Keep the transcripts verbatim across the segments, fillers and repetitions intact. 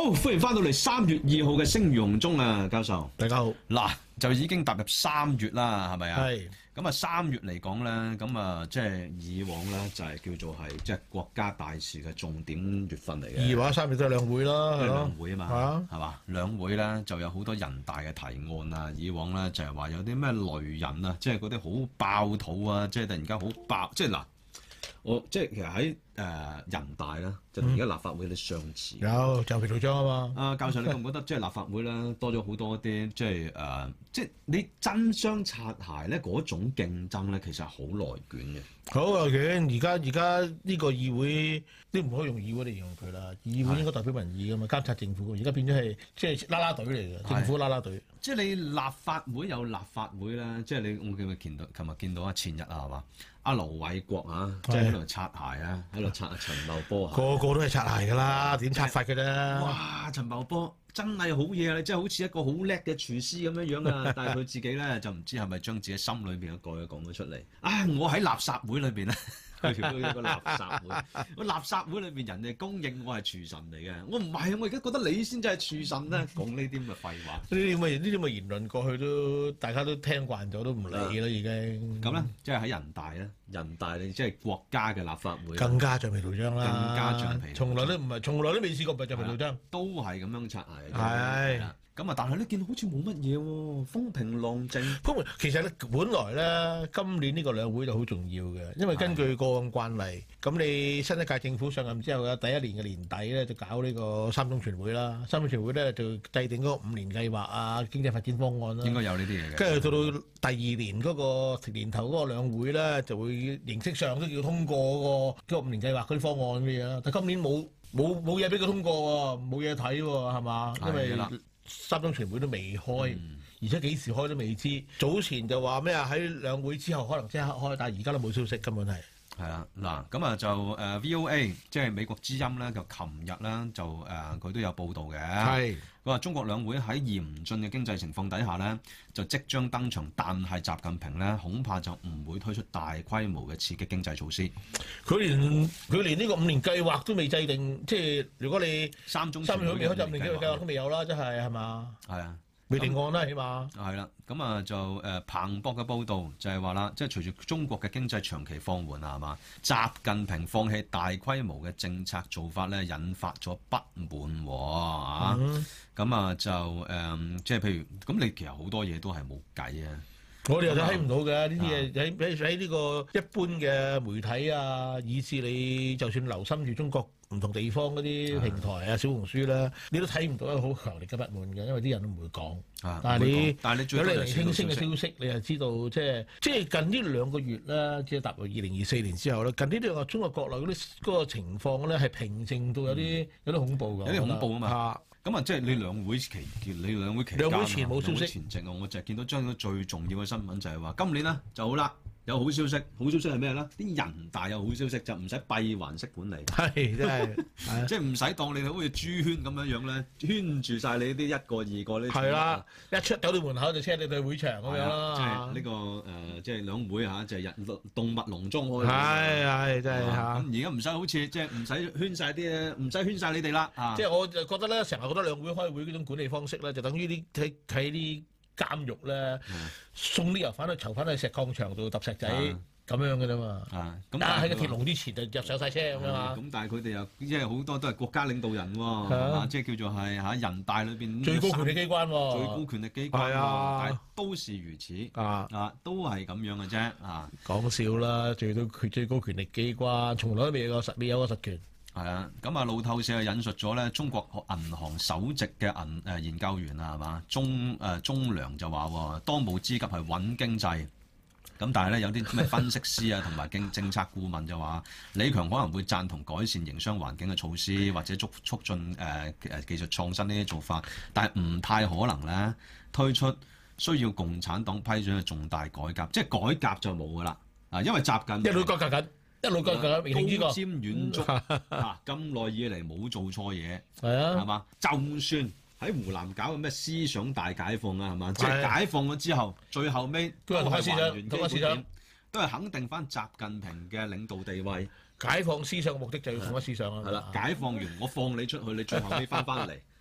歡迎翻到嚟三月二號嘅聲如洪鐘啊，教授。 大家好。 嗱，就已經踏入三月啦，係咪啊？ 係。 咁啊，三月嚟講咧，咁啊，即係以往咧就係叫做係即係國家大事嘅重點月份嚟嘅。 二或者三月都係兩會啦，係咯。 兩會啊嘛， 係啊， 係嘛？兩會咧就有好多人大嘅提案啊。以往咧就係話有啲咩雷人啊，即係嗰啲好爆肚啊，即係突然間好爆，即係嗱，我即係其實喺誒、呃、人大咧，就同而家立法會有啲相似。 有橡皮圖章啊嘛。 啊，教授，你覺唔覺得即係立法會咧多咗好多啲即係誒、呃，即係你爭相擦鞋咧嗰種競爭咧，其實係好內捲嘅。 好啊，嘅而家而家呢個議會，你唔可以用議會嚟形容佢啦。議會應該代表民意噶嘛，監察政府。而家變咗係即係啦啦隊嚟嘅，政府啦啦隊。 即係你立法會有立法會啦，即係你我記唔記見到？琴日見到啊，前日啊，係嘛？阿盧偉國啊，即係喺度擦鞋啊，喺度擦阿陳茂波啊。 個個都係擦鞋㗎啦，點擦法嘅啫？ 哇！陳茂波真係好嘢啊！你真係好似一個好叻嘅廚師咁樣樣啊！但係佢自己咧就唔知係咪將自己心裏邊嘅句講咗出嚟。啊！我喺垃圾會裏邊咧。去到一個垃圾會，個垃圾會裏邊人哋公認我係廚神嚟嘅，我唔係，我而家覺得你先至係廚神咧，講呢啲咁嘅廢話。 呢啲咁嘅呢啲咁嘅言論過去都大家都聽慣咗，都唔理啦已經。 咁咧，即係喺人大咧，人大你即係國家嘅立法會， 更加橡皮圖章啦， 更加橡皮圖章， 從來都唔係，從來都未試過唔係橡皮圖章， 都係咁樣擦鞋。 係。 咁啊！但係咧，見到好似冇乜嘢喎，風平浪靜。 風平其實咧，本來咧，今年呢個兩會就好重要嘅，因為根據過往慣例，咁你新一屆政府上任之後嘅第一年嘅年底咧，就搞呢個三中全會啦。三中全會咧就制定嗰個五年計劃啊，經濟發展方案啦。 應該有呢啲嘢嘅。 跟住到到第二年嗰個年頭嗰個兩會咧，就會形式上都要通過嗰個嗰個五年計劃嗰啲方案嘅嘢啦。但今年冇冇冇嘢俾佢通過喎，冇嘢睇喎，係嘛？因為三中全會都未開，嗯、而且幾時開都未知。早前就話咩啊？喺兩會之後可能即刻開，但係而家都冇消息，根本係。係啊，嗱，咁啊就誒、呃、V O A 即係美國之音咧，就琴日咧就誒佢、呃、都有報導嘅。係。佢話中國兩會喺嚴峻嘅經濟情況底下咧，就即將登場，但係習近平咧恐怕就唔會推出大規模嘅刺激經濟措施。 佢連佢連呢個五年計劃都未制定，即係如果你三中三中未開就五年計劃都未有啦，真係係嘛？係啊。未定案啦，起碼係啦，咁啊就誒、呃、彭博嘅報導就係話啦，即係隨住中國嘅經濟長期放緩啊，係嘛？習近平放棄大規模嘅政策做法咧，引發咗不滿喎啊！咁、嗯、啊就誒、呃，即係譬如咁，你其實好多嘢都係冇計啊！ 我哋又睇唔到嘅呢啲嘢，喺喺喺呢個一般嘅媒體啊，以至你就算留心住中國唔同地方嗰啲平台啊、小紅書啦，你都睇唔到一個好強烈嘅不滿嘅，因為啲人都唔會講。 啊、 但係你， 但係你有零零星星嘅消息，你就知道即係即係近呢兩個月啦，即係踏入二零二四年之後咧，近呢兩個中國國內嗰啲嗰個情況咧係平靜到有啲、嗯、有啲恐怖㗎， 有啲恐怖啊嘛。咁啊，即係你兩會期，你兩會期間， 兩會前冇消息， 前夕啊，我就係見到將咗最重要嘅新聞就係話，今年咧就好啦，有好消息，好消息係咩咧？啲人大有好消息，就唔使閉環式管理， 係真係， 即係唔使當你好似豬圈咁樣樣咧，圈住晒你啲一個二個呢？ 係啦，一出到到門口就車你去會場咁樣啦。 即係呢個誒、呃，即係兩會嚇，就係、是、人動物籠中開。 係係真係嚇。 咁而家唔使好似即係唔使圈晒啲，唔使圈晒你哋啦。 即係我就覺得咧，成日覺得兩會開會嗰種管理方式咧，就等於啲睇睇啲監獄咧，送啲囚犯去囚犯去石礦場度揼石仔咁樣嘅啫嘛。啊，咁但係喺個鐵籠之前就入上晒車咁樣嘛。咁但係佢哋又即係好多都係國家領導人喎，係嘛？即係叫做係嚇人大裏邊最高權力機關喎， 最高權力機關喎，但係都是如此啊啊，都係咁樣嘅啫啊！ 講笑啦，最高權最高權力機關，從來都未有個實未有個實權。 係啊，咁啊路透社引述咗咧中國銀行首席嘅銀誒研究員啊，係嘛？鐘誒鐘良就話當務之急係穩經濟。咁但係咧有啲咩分析師啊同埋政政策顧問就話，李強可能會贊同改善營商環境嘅措施，或者促促進誒誒、呃、技術創新呢啲做法，但係唔太可能咧推出需要共產黨批准嘅重大改革，即係改革就冇噶啦啊，因為習近平一路改革緊。一路講講， 高瞻遠矚啊！咁耐以嚟冇做錯嘢， 係啊， 係嘛？就算喺湖南搞嘅咩思想大解放啊，係嘛？即係解放咗之後，最後尾都係還原基本點，都係肯定翻習近平嘅領導地位。 解放思想嘅目的就要統一思想啊！ 係啦，解放完我放你出去，你最後尾翻翻嚟。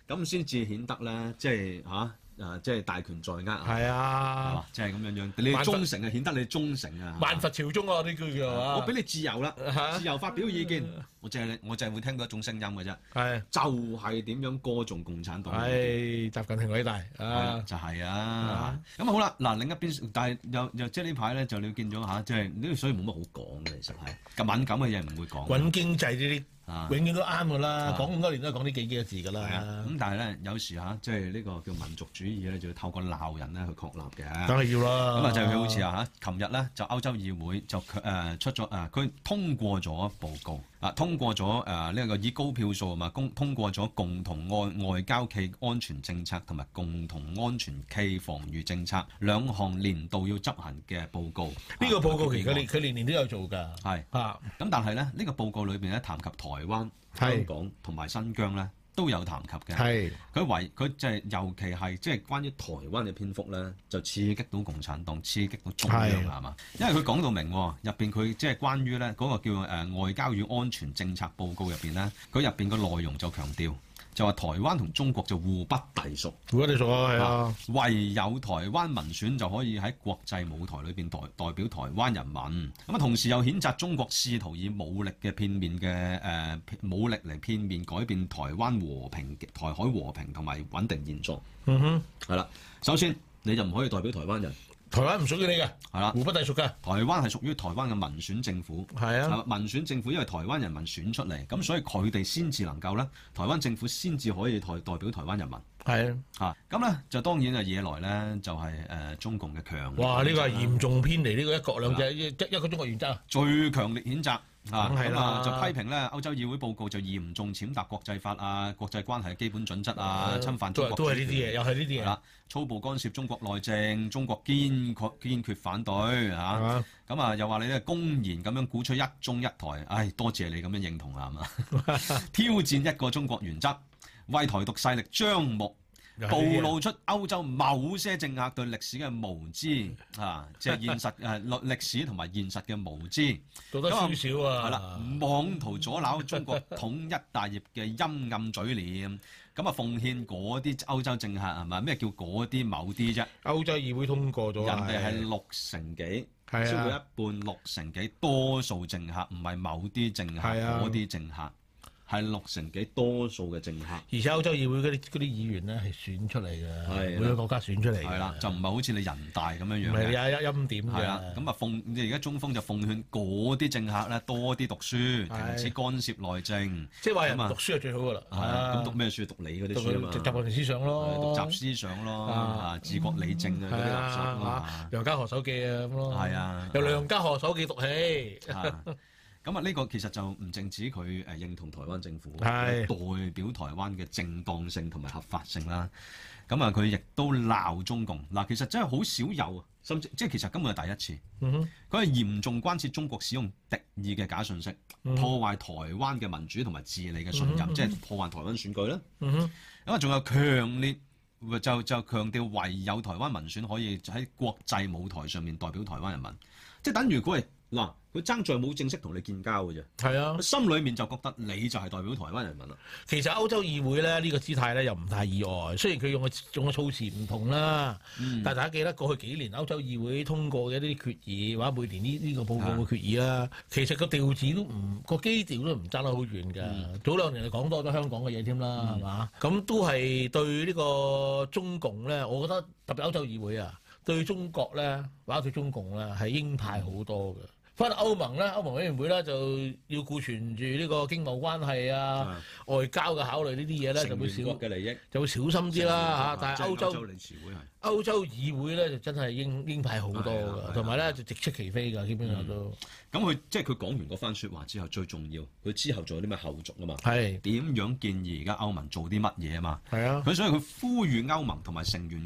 咁先至顯得咧，即係嚇誒，即係大權在握啊！ 係係啊嘛，，即係咁樣樣，你萬佛忠誠啊，顯得你忠誠啊！ 萬佛朝宗啊！呢句叫啊， 我俾你自由啦， 嚇自由發表意見，我淨係我淨係會聽到一種聲音嘅啫， 係就係點樣歌頌共產黨。 係習近平偉大係啦啊！ 就係啊啊， 咁好啦，嗱另一邊，但係又又即係呢排咧就你見咗嚇，即係呢個所以冇乜好講嘅，其實係咁敏感嘅嘢唔會講。 揾經濟呢啲。 啊永遠都啱噶啦， 啊講咁多年都係講呢幾幾個字噶係啊， 啦， 咁但係咧有時嚇，即係呢個叫民族主義咧，就要透過鬧人咧去確立嘅。 梗係要啦。 咁啊就佢好似啊嚇，琴日咧就歐洲議會就誒、呃、出咗誒，佢、呃、通過咗報告啊，通過咗誒呢個以高票數啊嘛，公通過咗共同外外交暨安全政策同埋共同安全暨防禦政策兩項年度要執行嘅報告。 呢個報告其實佢年佢年年都有做㗎。 係啊， 咁，但係咧呢、呢個報告裏邊咧談及台灣、 係香港同埋新疆咧都有談及嘅。 係佢為佢就係尤其係即係關於台灣嘅篇幅咧，就刺激到共產黨，刺激到中央係係嘛？因為佢講到明喎入邊佢即係關於咧嗰個叫誒、呃、外交與安全政策報告入邊咧，佢入邊個內容就強調。就話台灣同中國就互不隸屬， 如果你做啊，係啊， 唯有台灣民選就可以喺國際舞台裏邊代代表台灣人民。咁啊，同時又譴責中國試圖以武力嘅片面嘅誒、呃、武力嚟片面改變台灣和平、台海和平同埋穩定現狀。 嗯哼， 係啦，首先你就唔可以代表台灣人， 台灣唔屬於你嘅， 係啦， 互不隸屬嘅， 台灣係屬於台灣嘅民選政府。 係啊， 民選政府因為台灣人民選出嚟，咁所以佢哋先至能夠咧，台灣政府先至可以代代表台灣人民。 係啊，咁咧就當然啊惹來咧就係、是、誒、呃、中共嘅強烈哇！呢、這個係譴責啦嚴重偏離呢個一國兩制一一個中國原則啊！ 最強烈譴責啊， 梗係啦咁啊就批評咧歐洲議會報告就嚴重踐踏國際法啊、國際關係嘅基本準則啊， 呃侵犯中國都係都係呢啲嘢，又係呢啲嘢係啦，粗暴干涉中國內政，中國堅確堅決反對嚇。 啊！ 咁啊又話你咧公然咁樣鼓吹一中一台，唉多謝你咁樣認同啦，係嘛？挑戰一個中國原則，為台獨勢力張目。暴露出歐洲某些政客對歷史嘅無知啊，即係現實誒歷歷史同埋現實嘅無知， 做得少少啊！ 係啦，妄圖阻撓中國統一大業嘅陰暗嘴臉，咁啊奉獻嗰啲歐洲政客係咪？咩叫嗰啲某啲啫？ 歐洲議會通過咗， 人哋係六成幾， 係超過啊， 一半六成幾，多數政客唔係某啲政客， 係啊嗰啲政客。係六成幾多數嘅政客， 而且歐洲議會嗰啲嗰啲議員咧係選出嚟嘅， 係每個國家選出嚟嘅， 係啦，就唔係好似你人大咁樣樣唔係嘅。 有有欽點嘅。 係啦，咁啊奉你而家中方就奉勸嗰啲政客咧多啲讀書，停止干涉內政。 即係話人咁啊讀書係最好噶啦。 係啊，咁讀咩書？讀你嗰啲書啊嘛。 讀習近平思想咯， 讀習思想咯， 啊啊治國理政啊嗰啲垃圾啊啊。 梁家河手記啊咁咯。 係啊由梁家河手記讀起。 啊咁啊，呢個其實就唔淨止佢誒認同台灣政府， 係代表台灣嘅正當性同埋合法性啦。咁啊，佢亦都鬧中共嗱，其實真係好少有啊，甚至即係其實根本係第一次。 嗯哼， 佢係嚴重關切中國使用敵意嘅假信息， 嗯破壞台灣嘅民主同埋治理嘅信任， 嗯哼即係破壞台灣選舉啦。 嗯哼， 咁啊，仲有強烈就就強調唯有台灣民選可以喺國際舞台上面代表台灣人民，即係等於佢係嗱，佢爭在冇正式同你建交嘅啫。 係啊。 心裏面就覺得你就係代表台灣人民啦。 其實歐洲議會咧呢個姿態咧又唔太意外，雖然佢用嘅用嘅措辭唔同啦， 嗯但係大家記得過去幾年歐洲議會通過嘅一啲決議，或者每年呢呢個報告嘅決議啦，其實個調子都唔個基調都唔爭得好遠㗎。 嗯早兩年就講多咗香港嘅嘢添啦，係嘛、咁都係對呢個中共咧，我覺得特別歐洲議會啊，對中國咧或者對中共咧係鷹派好多嘅。翻到歐盟咧，歐盟委員會咧就要顧全住呢個經貿關係啊、外交嘅考慮呢啲嘢咧，就會少嘅利益， 就會小心啲啦嚇。但係歐洲歐洲理事會係歐洲議會咧就真係鷹鷹派好多㗎，同埋咧就直斥其非㗎，基本上都咁佢即係佢講完嗰番説話之後，最重要佢之後仲有啲咩後續啊嘛？ 係點樣建議而家歐盟做啲乜嘢啊嘛？ 係啊， 佢所以佢呼籲歐盟同埋成員國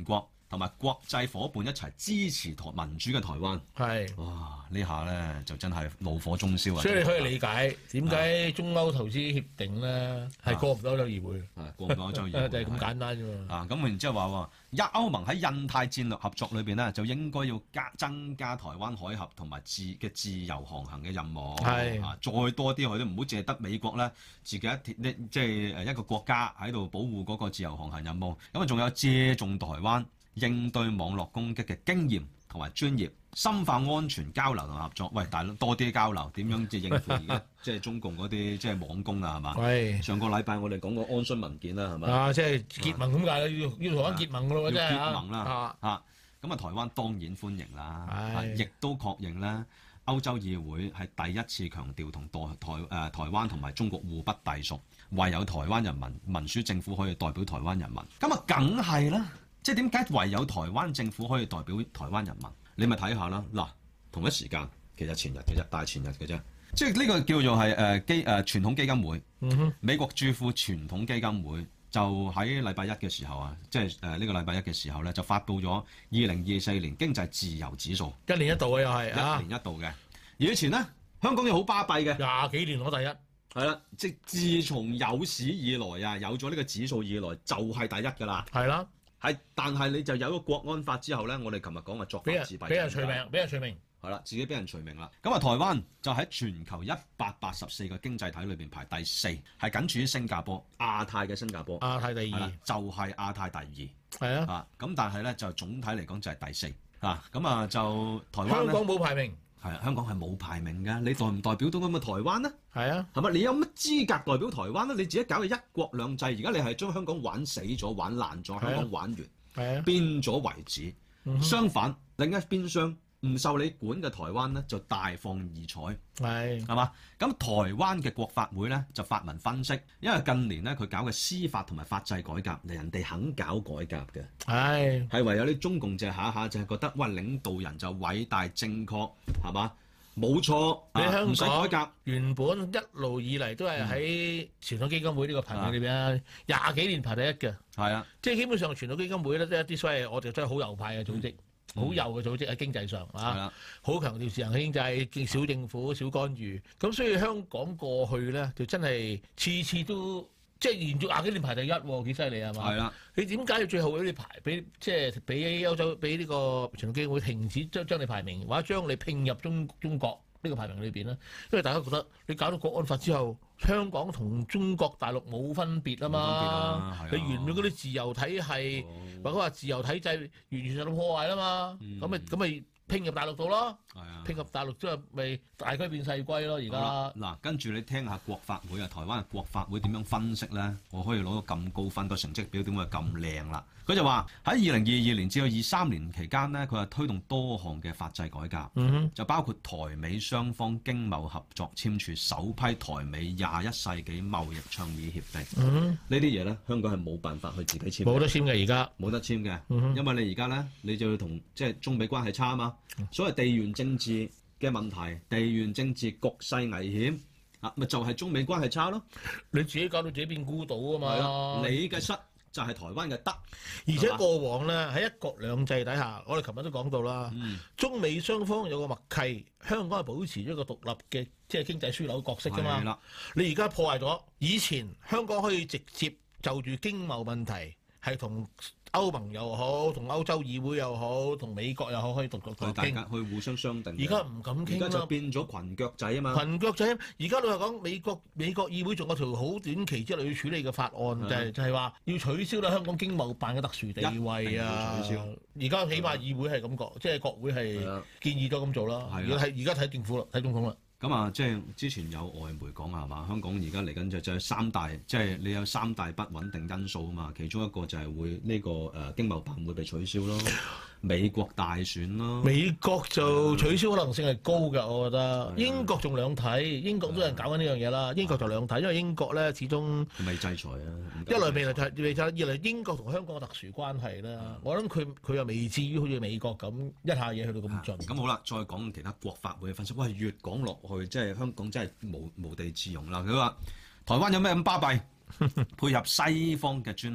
同埋國際伙伴一齊支持台民主嘅台灣。 係。 哇！呢下咧就真係怒火中燒啊！ 所以你可以理解點解中歐投資協定咧係過唔到歐洲議會。 係過唔到歐洲議會， 就係咁簡單啫嘛。 啊，咁然之後話喎，一歐盟喺印太戰略合作裏邊咧，就應該要加增加台灣海峽同埋自嘅自由航行嘅任務。 係啊，再多啲佢都唔好淨係得美國咧，自己一鐵即係誒一個國家喺度保護嗰個自由航行任務。咁啊，仲有借重台灣應對網絡攻擊嘅經驗同埋專業，深化安全交流同合作。喂，大佬多啲交流，點樣即係應付而家即係中共嗰啲即係網攻啊？係嘛？ 係。 上個禮拜我哋講過安洵文件啦，係嘛？ 啊，即係結盟咁解啦，要要台灣結盟噶咯，真係結盟啦啊啊！咁啊，台灣當然歡迎啦， 係亦都確認咧，歐洲議會係第一次強調同台台誒、呃、台灣同埋中國互不隸屬，唯有台灣人民民主政府可以代表台灣人民。咁啊，梗係啦，即係點解唯有台灣政府可以代表台灣人民？你咪睇下啦，嗱，同一時間其實前日嘅啫，大前日嘅啫，即係呢個叫做係誒基誒傳統基金會， 嗯哼， 美國駐庫傳統基金會就喺禮拜一嘅時候啊，即係誒呢個禮拜一嘅時候咧，就發布咗二零二四年經濟自由指數， 一年一度嘅又係啊， 一年一度嘅。而以前咧，香港又好巴閉嘅， 廿幾年攞第一， 係啦，即係自從有史以來啊，有咗呢個指數以來就係第一㗎啦。 係啦， 係，但係你就有咗國安法之後咧，我哋琴日講嘅作俾人法自斃， 俾人除名，俾人除名。 係啦，自己俾人除名啦。咁啊，台灣就喺全球一百八十四個經濟體裏邊排第四，係僅次於新加坡，亞太嘅新加坡。 亞太第二， 就係、是、亞太第二。 係啊。 啊，咁但係咧就總體嚟講就係第四。啊，咁啊就台灣香港冇排名。 係啊，香港係冇排名㗎。你代唔代表到咁嘅台灣呢？ 係啊。係咪？你有乜資格代表台灣呢？你自己搞嘅一國兩制，而家你係將香港玩死咗、玩爛咗，香港玩完， 係啊， 變咗為止。 嗯、 相反，另一邊廂唔受你管嘅台灣咧，就大放異彩， 係係嘛？咁台灣嘅國法會咧就發文分析，因為近年咧佢搞嘅司法同埋法制改革，人哋肯搞改革嘅， 係係唯有啲中共就下下就係覺得，喂，領導人就偉大正確，係嘛？冇錯， 你香港唔使改革， 原本一路以嚟都係喺傳統基金會呢個排名裏邊啊，廿幾年排第一嘅，係啊， 即係基本上傳統基金會咧都係一啲所謂我哋真係好右派嘅組織。嗯好右嘅組織喺經濟上啊，好強調自由經濟、小政府、小干預。咁所以香港過去咧，就真係次次都即係連續廿幾年排第一喎，幾犀利係嘛？係啦。你點解要最後俾你排俾即係俾歐洲俾呢個傳統基金會停止將將你排名，或者將你拼入中中國呢個排名裏邊咧？因為大家覺得你搞到國安法之後，香港同中國大陸冇分別啊嘛。啊你原本嗰啲自由體系。哦或者話自由體制完全受到破壞啦嘛，咁咪咁咪拼入大陸度咯，拼入大陸之後咪大龜變細龜咯而家。 嗱，跟住你聽下國法會啊，台灣嘅國法會點樣分析咧？我可以攞到咁高分，個成績表點會咁靚啦？佢就話喺二零二二年至到二三年期間呢，佢係推動多項嘅法制改革， 嗯、 就包括台美雙方經貿合作簽署首批台美廿一世紀貿易倡議協定。 嗯、 呢啲嘢咧，香港係冇辦法去自己簽， 冇得簽嘅而家， 冇得簽嘅， 嗯、 因為你而家咧，你就要同即係中美關係差啊嘛。所謂地緣政治嘅問題，地緣政治局勢危險啊，咪就係、是、中美關係差咯。 你自己搞到自己變孤島啊嘛， 你嘅失就係台灣嘅得。 而且過往咧喺一國兩制底下，我哋琴日都講到啦、嗯，中美雙方有個默契，香港係保持咗一個獨立嘅即係經濟樞紐角色㗎嘛。你而家破壞咗，以前香港可以直接就住經貿問題係同歐盟又好，同歐洲議會又好，同美國又好，可以獨獨獨大家去互相商定。 而家唔敢傾啦， 而家就變咗裙腳仔啊嘛。 裙腳仔，而家老實講，美國美國議會仲有條好短期之內要處理嘅法案，就係、是、就係、是、話要取消啦香港經貿辦嘅特殊地位啊。取消。而家起碼議會係咁講，即係國會係建議咗咁做啦。而家睇而家睇政府啦，睇總統啦。 咁啊，即係之前有外媒講啊，係嘛？香港而家嚟緊就就係三大，即係你有三大不穩定因素啊嘛。其中一個就係會呢個誒經貿辦會被取消咯，美國大選咯。美國就取消可能性係高㗎，我覺得。英國仲兩睇，英國都有人搞緊呢樣嘢啦。英國就兩睇，因為英國咧始終未制裁啊。一來未嚟未制，二來英國同香港嘅特殊關係啦。我諗佢佢又未至於好似美國咁一下嘢去到咁盡。咁好啦，再講其他國法會嘅分析。喂，越講落去即係香港真係無無地自容啦！佢話台灣有咩咁巴閉？配合西方嘅專利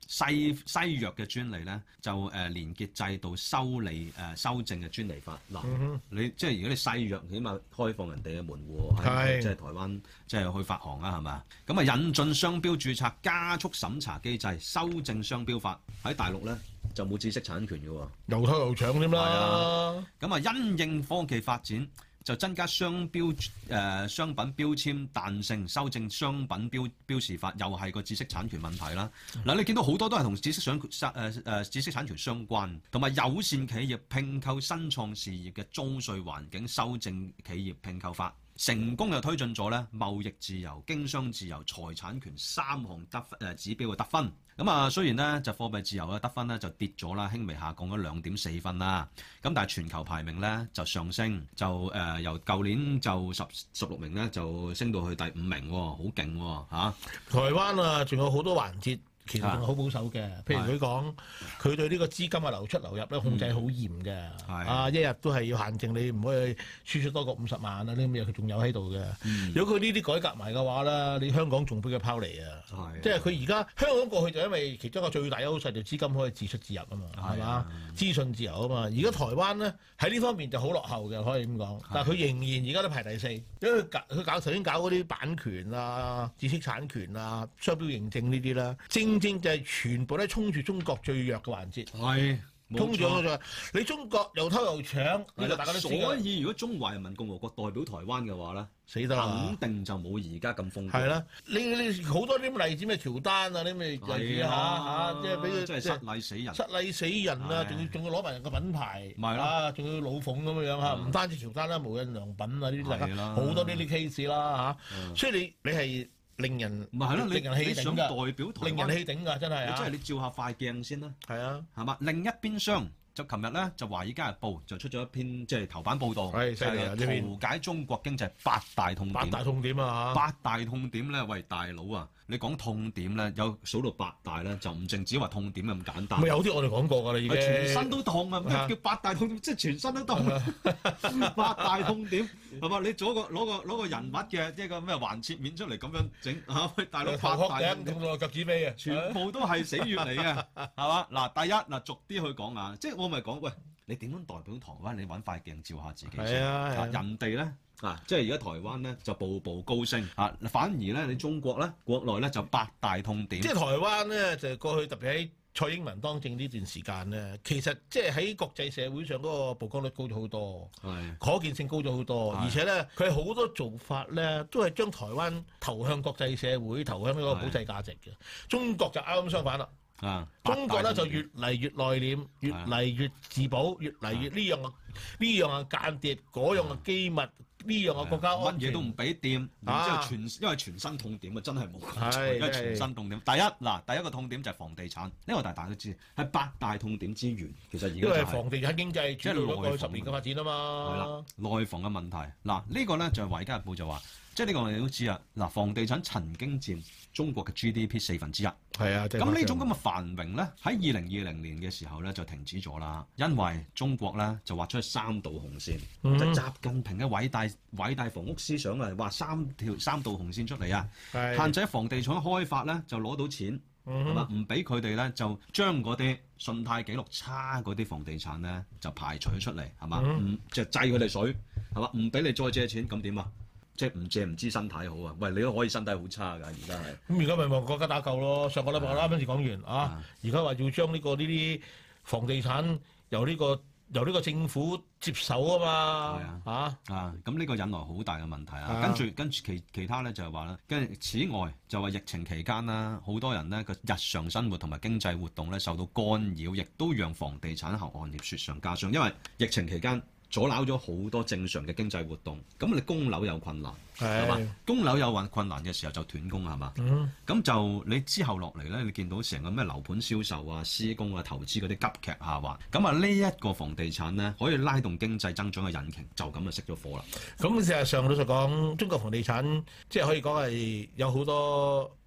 西西藥嘅專利咧，就誒、呃、連結制度修理誒、呃、修正嘅專利法。嗱、 嗯， 你即係如果你西藥，起碼開放人哋嘅門戶， 係即係台灣即係去發行啊，係嘛？咁啊引進商標註冊加速審查機制，修正商標法喺大陸咧就冇知識產權嘅喎， 又偷又搶添啦。 咁啊因應科技發展。就增加商標誒、呃、商品標籤彈性，修正商品標標示法，又係個知識產權問題啦。嗱、嗯，你見到好多都係同知識產誒誒、呃、知識產權相關，同埋友善企業併購新創事業嘅租稅環境，修正企業併購法，成功又推進咗咧貿易自由、經商自由、財產權三項得誒、呃、指標嘅得分。咁啊，雖然咧就貨幣自由嘅得分咧就跌咗啦，輕微下降咗兩點四分啦。咁但係全球排名咧就上升，就誒、呃、由舊年就十十六名咧就升到去第五名喎，好勁喎嚇！ 台灣啊，仲有好多環節。其實仲係好保守嘅，譬如佢講，佢對呢個資金嘅流出流入咧控制好嚴嘅，啊一日都係要限定你唔可以輸出多過五十萬啊呢啲咁嘢，佢仲有喺度嘅。如果佢呢啲改革埋嘅話咧，你香港仲俾佢拋離啊！即係佢而家香港過去就因為其中一個最大優勢就資金可以自出自入啊嘛，係嘛？資訊自由啊嘛。而家台灣咧喺呢方面就好落後嘅，可以咁講。但係佢仍然而家都排第四，因為佢搞佢搞頭先搞嗰啲版權啊、知識產權啊、商標認證呢啲啦，正正就係全部都衝住中國最弱嘅環節， 係衝住咗你中國又偷又搶，呢個大家都知。 所以如果中華人民共和國代表台灣嘅話咧， 死得啦， 肯定就冇而家咁豐富。 係啦，你你好多啲例子咩喬丹啊，啲咩例子嚇嚇，即係俾佢即係失禮死人， 失禮死人啊！仲要仲要攞埋人個品牌， 咪啦，仲要老鳳咁樣樣嚇，唔單止喬丹啦，無印良品啊，呢啲大家好多呢啲 case 啦嚇，所以你你係。令人唔係係咯， 令人氣頂想代表台灣， 令人氣頂㗎，真係啊！ 即係你照下塊鏡先啦。 係啊， 係嘛？另一邊廂就琴日咧，就《華爾街日報》就出咗一篇即係頭版報導， 係係圖解中國經濟八大痛點。 八大痛點啊！ 八大痛點咧，喂大佬啊！你講痛點咧，有數到八大咧，就唔淨止話痛點咁簡單。 咪有啲我哋講過㗎啦，已經。 全身都痛啊！咩叫八大痛點？即係全身都痛。八大痛點係嘛？你攞個攞個攞個人物嘅即係個咩橫切面出嚟咁樣整嚇？喂大佬，八大痛點痛到腳趾尾啊！ 全部都係死穴嚟嘅，係嘛？嗱，第一嗱，逐啲去講啊，即係我咪講喂，你點樣代表台灣？你揾塊鏡照下自己先。 啊， 人哋咧。啊！即係而家台灣咧就步步高升啊，反而咧你中國咧國內咧就八大痛點。即係台灣咧就過去特別喺蔡英文當政呢段時間咧，其實即係喺國際社會上嗰個曝光率高咗好多，係可見性高咗好多，而且咧佢好多做法咧都係將台灣投向國際社會，投向呢個保濟價值嘅。中國就啱啱相反啦。啊！中國咧就越嚟越內斂，越嚟越自保，越嚟越呢樣啊呢樣啊間諜，嗰樣啊機密，呢樣啊國家安全乜嘢都唔俾掂，然之後全因為全新痛點啊，真係冇，因為全新痛點。第一嗱，第一個痛點就係房地產，呢個大家都知係八大痛點之源。其實而家因為房地產經濟主導咗過去十年嘅發展啊嘛。 係啦，內房嘅問題嗱，呢個咧就係《華爾街日報》就話。即係呢個我哋都知啊！嗱，房地產曾經佔中國嘅 G D P 四分之一。係啊，咁呢種咁嘅繁榮咧，喺二零二零年嘅時候咧就停止咗啦，因為中國咧就畫出三道紅線，嗯、就習近平嘅偉大偉大房屋思想啊，畫三條三道紅線出嚟啊，限制房地產開發咧就攞到錢，係嘛、嗯？唔俾佢哋咧就將嗰啲信貸記錄差嗰啲房地產咧就排除出嚟，係嘛？唔、嗯、就制佢哋水，係嘛？唔俾你再借錢，咁點啊？即係唔借唔知身體好啊！喂，你都可以身體好差㗎，而家係。咁而家咪望國家打救咯？上個禮拜我啱啱先講完啊，而家話要將呢、這個呢啲房地產由呢、這個由呢個政府接手啊嘛。係啊，啊啊咁呢個引來好大嘅問題啊。跟住跟住其其他咧就係話咧，跟住此外就話疫情期間啦，好多人咧個日常生活同埋經濟活動咧受到干擾，亦都讓房地產行業雪上加霜，因為疫情期間。阻撓咗好多正常嘅經濟活動，咁你供樓有困難，係嘛？供樓有困困難嘅時候就斷供係嘛？咁、嗯、就你之後落嚟咧，你見到成個咩樓盤銷售啊、施工啊、投資嗰啲急劇下滑，咁啊呢一個房地產咧可以拉動經濟增長嘅引擎，就咁就熄咗火啦。咁事實上老實講，中國房地產即係可以講係有好多。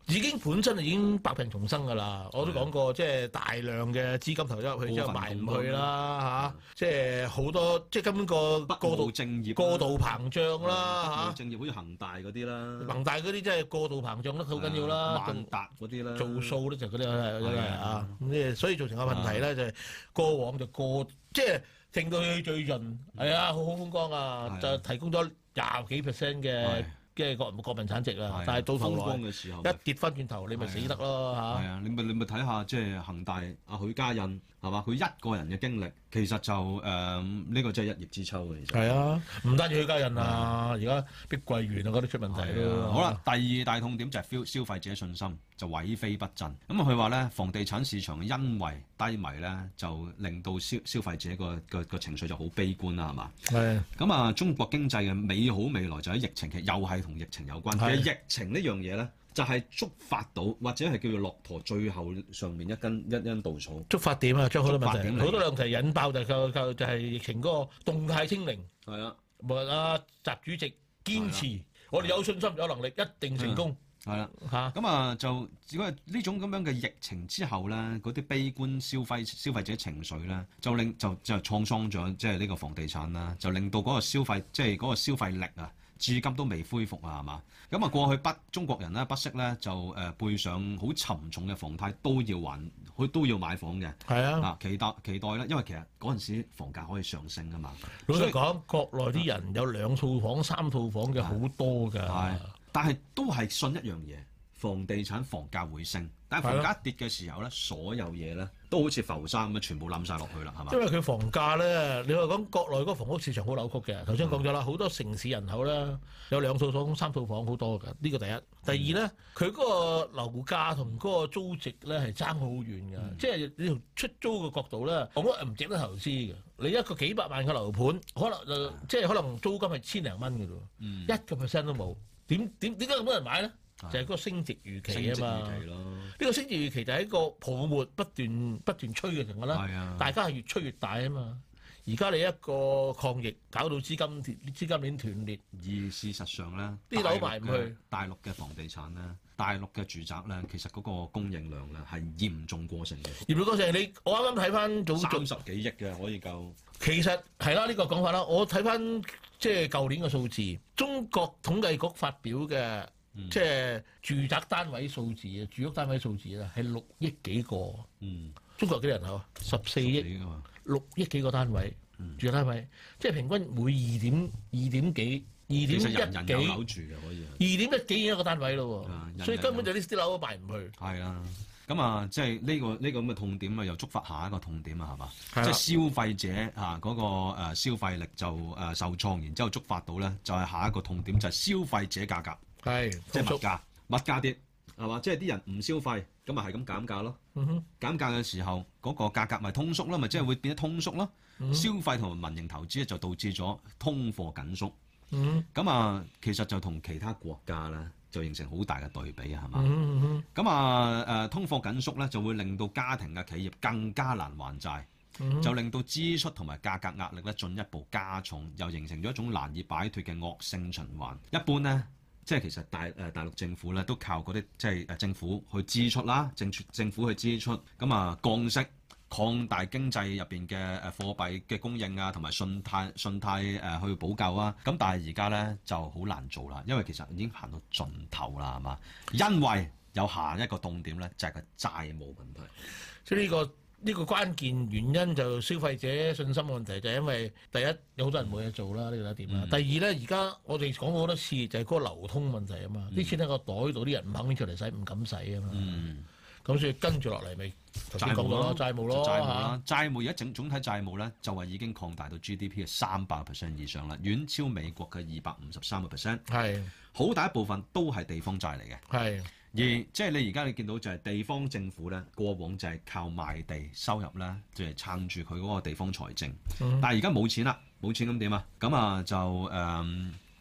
已經本身已經百病重生㗎啦。我都講過，即係大量嘅資金投咗入去之後賣唔去啦嚇，即係好多即係根本個過度正業過度膨脹啦嚇。 正業好似恒大嗰啲啦， 恒大嗰啲真係過度膨脹得好緊要啦， 萬達嗰啲啦， 做數咧就嗰啲係真係啊，咁即係所以造成個問題咧就係過往就過即係升到去最盡，係啊，好好風光啊，就提供咗廿幾 percent 嘅嘅國國民產值啊，但係到頭來嘅時候一跌翻轉頭，你咪死得咯嚇。 係啊，你咪你咪睇下即係恒大阿許家印係嘛，佢一個人嘅經歷其實就誒呢個真係一葉知秋嘅，其實係啊，唔單止許家印啊，而家碧桂園啊嗰啲出問題咯。 好啦，第二大痛點就係消消費者信心就萎靡不振。咁啊，佢話咧房地產市場因為低迷咧，就令到消消費者個個個情緒就好悲觀啦，係嘛？ 係。 咁啊，中國經濟嘅美好未來就喺疫情期，又係同疫情有關。其實疫情呢樣嘢咧，就係觸發到或者係叫做駱駝最後上面一根一根稻草。觸發點啊，將好多問題，好多問題引爆就就就就係疫情嗰個動態清零。 係啊， 無論阿習主席堅持，我哋有信心有能力一定成功。 係啦， 嚇咁啊就如果係呢種咁樣嘅疫情之後咧，嗰啲悲觀消費消費者情緒咧，就令就就創傷咗，即係呢個房地產啦，就令到嗰個消費即係嗰個消費力啊，至今都未恢復啊，係嘛？咁啊過去不中國人咧不惜咧就誒背上好沉重嘅房貸都要還，佢都要買房嘅。 係啊， 啊期待期待咧，因為其實嗰陣時房價可以上升啊嘛。 老實講，國內啲人有兩套房、三套房嘅好多㗎。 係。但係都係信一樣嘢，房地產房價會升，但係房價跌嘅時候咧，所有嘢咧都好似浮沙咁樣，全部冧晒落去啦，係嘛？ 因為佢房價咧，你話講國內嗰個房屋市場好扭曲嘅。頭先講咗啦，好多城市人口咧有兩套房、三套房好多㗎。呢個第一。第二咧，佢嗰個樓價同嗰個租值咧係爭好遠㗎。嗯、即係你從出租嘅角度咧，房屋唔值得投資嘅。你一個幾百萬嘅樓盤，可能就即係可能租金係千零蚊㗎咯，一個 percent 都冇。點點點解咁多人買咧？就係、是、嗰個升值預期啊嘛。呢個升值預期就係一個泡沫不斷不斷吹嘅情況啦。大家係越吹越大啊嘛。而家你一個抗疫搞到資金斷資金鏈斷裂， 而事實上咧， 啲樓賣唔去。 大陸嘅房地產咧，大陸嘅住宅咧，其實嗰個供應量咧係嚴重過剩嘅。 嚴重過剩，你我啱啱睇翻早三十幾億嘅可以夠。 其實係啦，呢、這個講法啦，我睇翻即係舊年嘅數字，中國統計局發表嘅、嗯、即係住宅單位數字啊，住屋單位數字啊，係六億幾個。嗯，中國幾人口啊？十四億，六億幾個單位，嗯、住宅單位，即係平均每二點二點幾，二點一幾，人人有樓住嘅可以。二點一幾一個單位咯，人人所以根本就啲啲樓都賣唔去。係啊。咁啊，即係呢個呢個咁嘅痛點啊，又觸發下一個痛點啊，係嘛？即係消費者啊嗰個誒消費力就誒受創，然之後觸發到咧就係下一個痛點，就係消費者價格，係即係物價，物價跌係嘛？即係啲人唔消費，咁咪係咁減價咯。嗯哼，減價嘅時候嗰個價格咪通縮咯，咪即係會變得通縮咯。嗯、消費同埋民營投資咧就導致咗通貨緊縮。嗯，咁啊，其實就同其他國家咧，就形成好大嘅對比啊，係嘛？咁、嗯嗯、啊誒，通貨緊縮咧，就會令到家庭嘅企業更加難還債，嗯、就令到支出同埋價格壓力咧進一步加重，又形成咗一種難以擺脱嘅惡性循環。一般咧，即係其實大誒大陸政府咧都靠嗰啲即係誒政府去支出啦，政政府去支出，咁啊降息。擴大經濟入邊嘅誒貨幣嘅供應啊，同埋信貸信貸誒去補救啊，咁但係而家咧就好難做啦，因為其實已經行到盡頭啦，係嘛？因為有下一個痛點咧，就係個債務問題。 即係呢個呢個關鍵原因就消費者信心問題，就係因為第一有好多人冇嘢做啦，呢個第一點啦。嗯、第二咧，而家我哋講過好多次，就係嗰個流通問題啊嘛，啲、嗯、錢喺個袋度，啲人唔肯拎出嚟使，唔敢使啊嘛。嗯咁所以跟住落嚟咪債務咯，債務咯， 債務啦，債務而家整總體債務咧就係已經擴大到 G D P 嘅三百 percent 以上啦，遠超美國嘅二百五十三個 percent。係好大一部分都係地方債嚟嘅。係而即係你而家你見到就係地方政府咧，過往就係靠賣地收入咧，就係撐住佢嗰個地方財政。嗯、但係而家冇錢啦，冇錢咁點啊？咁啊就誒。嗯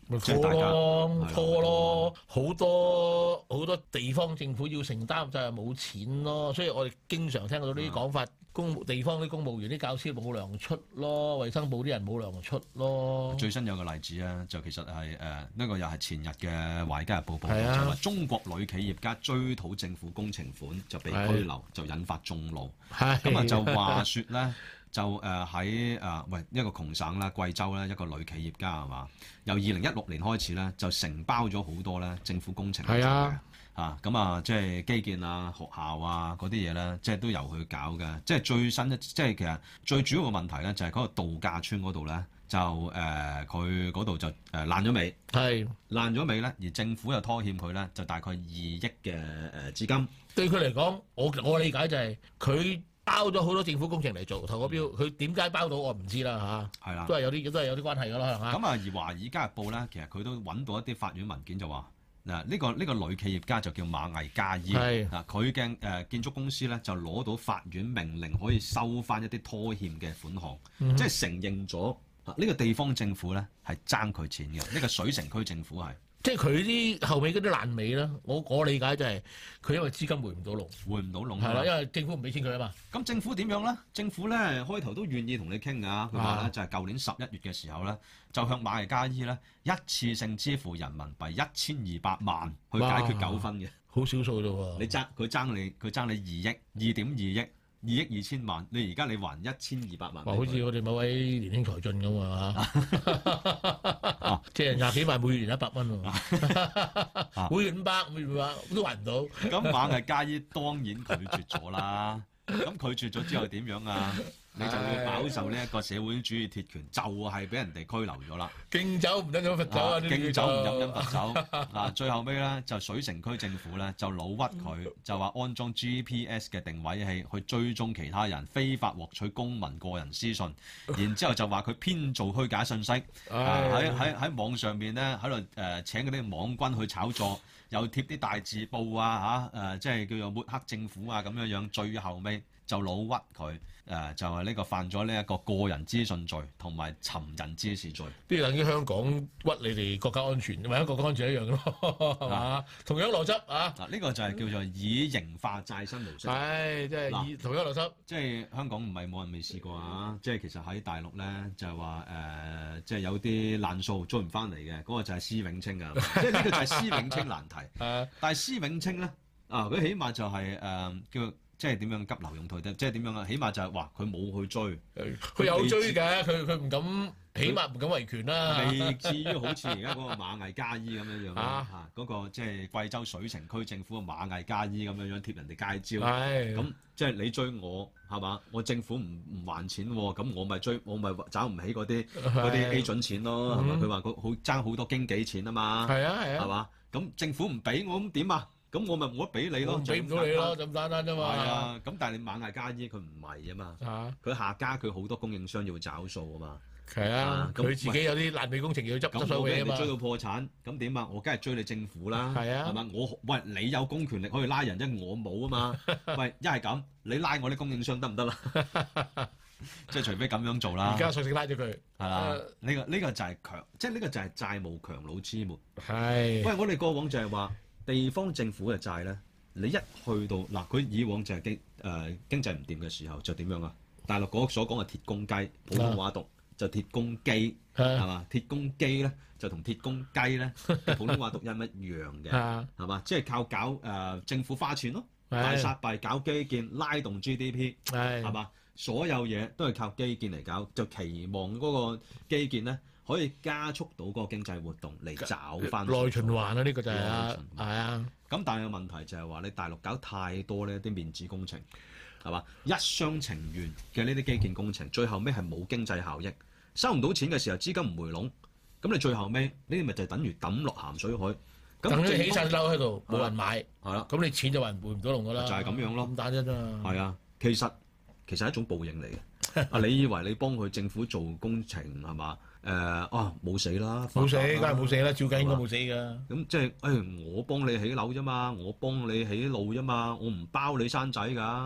咪即係大家拖咯， 係拖咯，好多好多地方政府要承擔就係冇錢咯，所以我哋經常聽到呢啲講法，公務地方啲公務員啲教師冇糧出咯，衛生部啲人冇糧出咯。 最新有個例子啊，就其實係誒呢個又係前日嘅《華爾街日報》報道， 係啊就話中國女企業家追討政府工程款就被拘留，就引發眾怒。 係咁啊就話説咧。就誒喺誒喂一個窮省啦，貴州咧一個女企業家係嘛？由二零一六年開始咧，就承包咗好多咧政府工程嚟做嘅係啊嚇，咁啊即係基建啊、學校啊嗰啲嘢咧，即係都由佢搞嘅。即係最新一，即係其實最主要嘅問題咧，就係嗰個度假村嗰度咧，就誒佢嗰度就誒爛咗尾， 係爛咗尾咧，而政府又拖欠佢咧，就大概二億嘅誒資金。 對佢嚟講，我我理解就係佢包咗好多政府工程嚟做投個標，佢點解包到我唔知啦嚇， 係啦都係有啲都係有啲關係㗎啦嚇。 咁啊，而《華爾街日報》咧，其實佢都揾到一啲法院文件就話嗱，呢個呢個女企業家就叫馬藝嘉伊係嗱，佢嘅誒建築公司咧就攞到法院命令可以收翻一啲拖欠嘅款項， 嗯即係承認咗啊呢個地方政府咧係爭佢錢嘅，呢個水城區政府係即係佢啲後尾嗰啲爛尾啦，我我理解就係佢因為資金回唔到籠， 回唔到籠係啦， 啊。 因為政府唔俾錢佢啊嘛。 咁政府點樣咧？政府咧開頭都願意同你傾㗎，佢話咧啊就係舊年十一月嘅時候咧，就向馬藝嘉伊咧一次性支付人民幣一千二百萬去解決糾紛嘅。 好少數啫喎。 你爭佢爭你佢爭你二億二點二億二億二千萬，你而家你還一千二百萬俾佢。 哇！好似我哋某位年輕才俊咁啊嚇，即係廿幾萬每月一百蚊喎，每月五百，每月五百都還唔到。 咁馬藝嘉伊當然拒絕咗啦。咁拒絕咗之後點樣啊？你就要飽受呢一個社會主義鐵拳，就係俾人哋拘留咗啦。 敬酒唔飲飲罰酒啊！呢啲敬酒唔飲飲叫做罰酒啊！最後尾咧就水城區政府咧就老屈佢，就話安裝 G P S 嘅定位器去追蹤其他人，非法獲取公民個人私訊，然之後就話佢編造虛假信息，啊喺喺喺網上面咧喺度誒請嗰啲網軍去炒作，又貼啲大字報啊嚇誒、呃，即係叫做抹黑政府啊咁樣樣，最後尾就老屈佢。誒、呃、就係、是、呢個犯咗呢一個個人資訊罪同埋尋人滋事罪， 呢啲等於香港屈你哋國家安全，或者國家安全一樣咯，係嘛？同樣邏輯啊！ 嗱，呢個就係叫做以刑化債新模式。 係即係以同樣邏輯。 即係香港唔係冇人未試過啊！即係其實喺大陸咧就係話誒，即係有啲爛數追唔翻嚟嘅，嗰、那個就係施永青啊！即係呢個就係施永青難題。 誒， 但係施永青咧啊，佢起碼就係、是、誒、呃、叫。即係點樣急流勇退啫？即係點樣啊？起碼就係話佢冇去追， 佢有追嘅，佢佢唔敢，起碼唔敢維權啦。 未至於好似而家嗰個馬藝嘉伊咁樣樣啦嚇，嗰個即係貴州水城區政府嘅馬藝嘉伊咁樣樣貼人哋街招。 係咁即係你追我係嘛？我政府唔唔還錢喎，咁我咪追，我咪找唔起嗰啲嗰啲 A 準錢咯，係嘛？佢話佢好爭好多經紀錢啊嘛， 係啊係啊， 係嘛？咁政府唔俾我咁點啊？咁我咪冇得俾你咯， 俾唔到你咯，咁簡單啫嘛。 係啊，咁但係你馬藝嘉伊佢唔係啊嘛，佢下家佢好多供應商要找數啊嘛。 係啊，佢自己有啲爛尾工程要執執手尾啊嘛。 咁我俾人哋追到破產，咁點啊？我梗係追你政府啦， 係啊， 係嘛？我喂你有公權力可以拉人，因為我冇啊嘛。喂，一係咁，你拉我啲供應商得唔得啦？即係除非咁樣做啦。 而家索性拉咗佢， 係啦。呢個呢個就係強，即係呢個就係債務強弩之末。 係。 喂，我哋過往就係話。地方政府嘅債咧，你一去到嗱，佢以往就係經誒、呃、經濟唔掂嘅時候就點樣啊？大陸嗰所講嘅鐵公雞，普通話讀就鐵公雞，係嘛？鐵公雞咧就同鐵公雞咧普通話讀音一樣嘅，係嘛？即係靠搞誒、呃、政府花錢咯，大撒幣搞基建，拉動 G D P，係嘛？所有嘢都係靠基建嚟搞，就期望嗰個基建咧。可以加速到嗰個經濟活動嚟找翻內循環啊！呢、呢個就係啊，係啊。 咁但係個問題就係話你大陸搞太多呢啲面子工程，係嘛？一廂情願嘅呢啲基建工程，最後尾係冇經濟效益，收唔到錢嘅時候資金唔回籠，咁你最後尾呢啲咪就等於抌落鹹水海。 等你起晒樓喺度，冇人買， 係啦， 咁你錢就還回唔到籠㗎啦。 就係咁樣咯， 咁單啫嘛。 係啊，其實其實係一種報應嚟嘅。啊，你以為你幫佢政府做工程係嘛？誒啊冇死啦， 冇死，梗係冇死啦，照計應該冇死㗎。 咁即係誒，我幫你起樓啫嘛，我幫你起路啫嘛，我唔包你生仔㗎。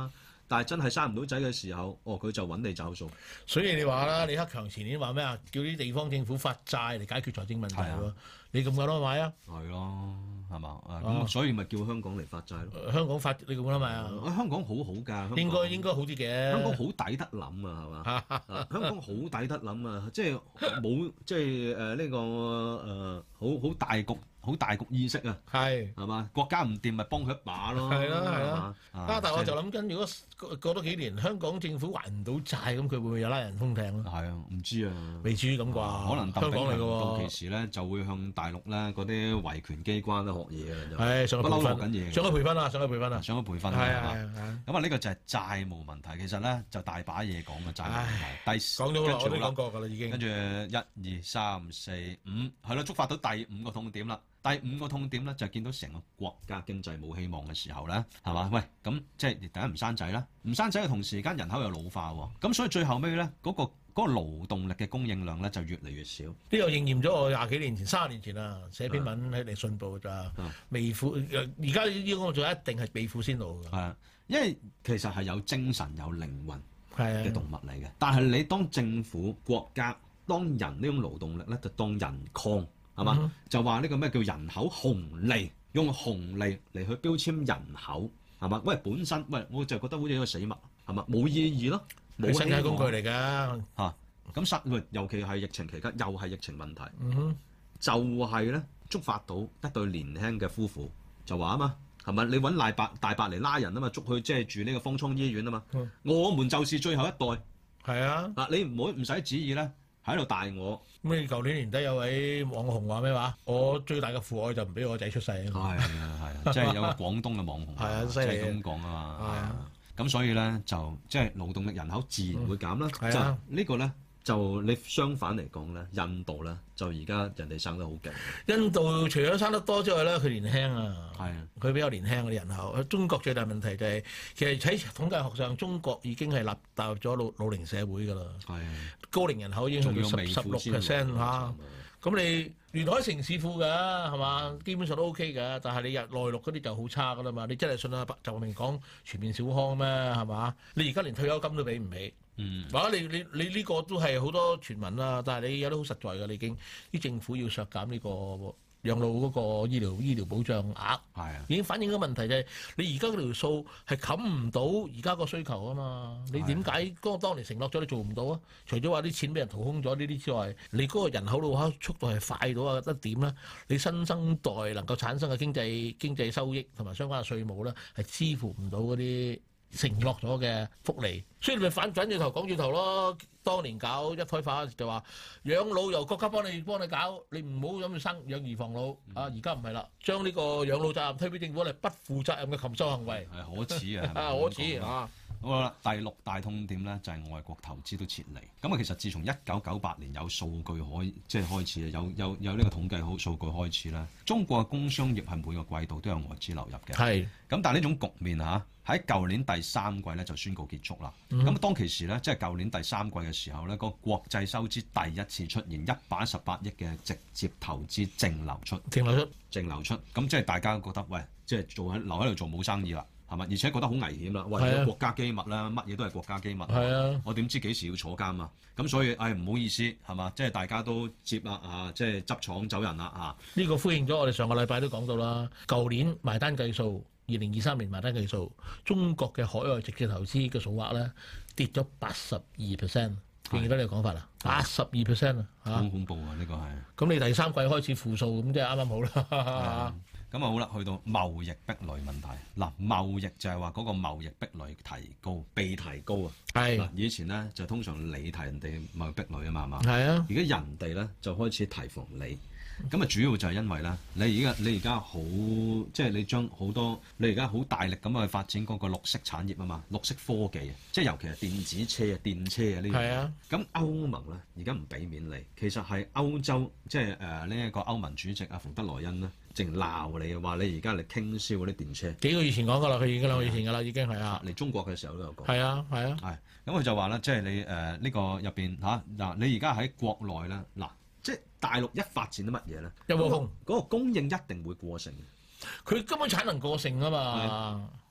但係真係生唔到仔嘅時候，哦佢就揾你找數。 所以你話啦，李克強前年話咩啊？叫啲地方政府發債嚟解決財政問題喎。 啊你咁夠膽買啊？ 係咯，係嘛？啊咁、 啊所以咪叫香港嚟發債咯。 呃香港發你咁膽買啊？ 啊香港好好㗎，香港應該應該好啲嘅。 香港好抵得諗啊，係嘛？啊香港好抵得諗啊，即係冇即係誒呢個誒、呃、好好大局好大局意識啊， 係係嘛？國家唔掂咪幫佢一把咯， 係啦係啦嘛啊！但係我就諗緊，如果過過多幾年香港政府還唔到債，咁佢會唔會有拉人封艇咯？ 係啊，唔知啊。 未至於咁啩？ 可能鄧香港嚟嘅炳強到喎。 期時咧，就會向大陸咧嗰啲維權機關咧學嘢嘅就係上去培不嬲學緊訓， 嘢上去培訓啊！上去培訓啊！ 上咗培訓係係嘛？ 啊係啊！ 咁啊，呢個就係債務問題。其實咧就大把嘢講嘅債務問題。第講咗好耐，我都跟住好啦講過㗎啦，已經。 跟住一二三四五係咯，觸發到第五個痛點啦。第五個痛點咧就係見到成個國家經濟冇希望嘅時候咧，係嘛？喂，咁即係第一唔生仔啦，唔生仔嘅同時間人口又老化喎，咁所以最後尾咧嗰個嗰個勞動力嘅供應量咧就越嚟越少。 呢個應驗咗我廿幾年前、三十年前啊，寫篇文喺嚟信報咋，未富而家呢個就一定係未富先老㗎。 係啊，因為其實係有精神有靈魂係啊， 嘅動物嚟嘅，但係你當政府國家當人呢種勞動力咧，就當人礦。係嘛？ 嗯就話呢個咩叫人口紅利，用紅利嚟去標籤人口，係嘛？喂，本身喂，我就覺得好似一個死物，係嘛？冇意義咯，冇係身體希望工具嚟㗎。 嚇。咁實喂，尤其係疫情期間，又係疫情問題， 嗯哼， 就係咧觸發到一對年輕嘅夫婦，就話啊嘛，係咪？你揾大白大白嚟拉人啊嘛，捉去即係住呢個方艙醫院啊嘛。 嗯我們就是最後一代係啊。 嗱，你唔好唔使旨意咧，喺度大我。 咁你舊年年底有位網紅話咩話？我最大嘅父愛就唔俾我仔出世啊！ 係啊係啊，即係有個廣東嘅網紅係啊即犀利係咁講啊嘛。 係啊咁所以咧就即係勞動力人口自然會減啦。 係啊就呢個咧就你相反嚟講咧，印度咧就而家人哋生得好勁。 印度除咗生得多之外咧，佢年輕啊， 係啊， 佢比較年輕嗰啲人口。中國最大問題就係、其實喺統計學上，中國已經係納踏入咗老老齡社會㗎啦。 係啊， 高齡人口已經去到十仲要未十六富先 percent 老嚇。咁你沿海城市富㗎係嘛？基本上都 OK 㗎，但係你入內陸嗰啲就好差㗎啦嘛。你真係信阿習近平講全面小康咩係嘛？你而家連退休金都俾唔起。 嗯， 或者你你你呢個都係好多傳聞啦，但係你有啲好實在嘅，你已經啲政府要削減呢個養老嗰個醫療醫療保障額， 係啊， 已經反映咗問題就係你而家嗰條數係冚唔到而家個需求啊嘛。你點解嗰個當年承諾咗你做唔到啊？除咗話啲錢俾人掏空咗呢啲之外，你嗰個人口老化速度係快到啊得點咧？你新生代能夠產生嘅經濟經濟收益同埋相關嘅稅務咧，係支付唔到嗰啲承諾咗嘅福利，所以你咪反反轉頭講轉頭咯。當年搞一胎化就話養老由國家幫你幫你搞，你唔好諗住生養兒防老。啊，而家唔係啦，將呢個養老責任推俾政府，係不負責任嘅禽獸行為。 係可恥啊，係咪啊，可恥啊！ 好啦，第六大痛點咧就係外國投資都撤離。咁啊，其實自從一九九八年有數據可以即係開始有有有呢個統計好數據開始啦。中國嘅工商業係每個季度都有外資流入嘅。 係。 咁但係呢種局面嚇喺舊年第三季咧就宣告結束啦。咁、 嗯、 當其時咧，即係舊年第三季嘅時候咧，個國際收支第一次出現一百一十八億嘅直接投資淨流出。 淨流出。 淨流出。咁即係大家覺得喂，即係做喺留喺度做冇生意啦。係嘛？而且覺得好危險啦！喂， 係啊國家機密啦，乜嘢都係國家機密。 係啊， 我點知幾時要坐監啊？咁所以，唉，唔好意思，係嘛？即係大家都接啦啊！即係執廠走人啦啊！ 呢個呼應咗我哋上個禮拜都講到啦。舊年埋單計數，二零二三年埋單計數，中國嘅海外直接投資嘅數額咧跌咗八十二 percent。記唔記得你嘅講法啊？八十二 percent 啊！ 好恐怖啊！呢個係。 咁你第三季開始負數，咁即係啱啱好啦。 咁啊好啦，去到貿易壁壘問題嗱，貿易就係話嗰個貿易壁壘提高，被提高啊。 係嗱，以前咧就通常你提人哋貿易壁壘啊嘛，係嘛？ 係啊。 而家人哋咧就開始提防你，咁啊主要就係因為咧，你而家你而家好即係你將好多你而家好大力咁去發展嗰個綠色產業啊嘛，綠色科技啊，即係尤其係電子車啊、電車啊呢啲。係啊。咁歐盟咧而家唔俾面你，其實係歐洲即係誒呢一個歐盟主席阿馮德萊恩咧。淨鬧你話你而家嚟傾銷嗰啲電車，幾個月前講噶啦，佢已經兩個月前噶啦，已經係啊。 嚟中國嘅時候都有講。 係啊，係啊。 係咁佢就話咧，即係你誒呢、呃這個入邊嚇嗱，你而家喺國內咧嗱，即係大陸一發展啲乜嘢咧？ 一窩蜂， 嗰個供應一定會過剩。 佢根本產能過剩啊嘛。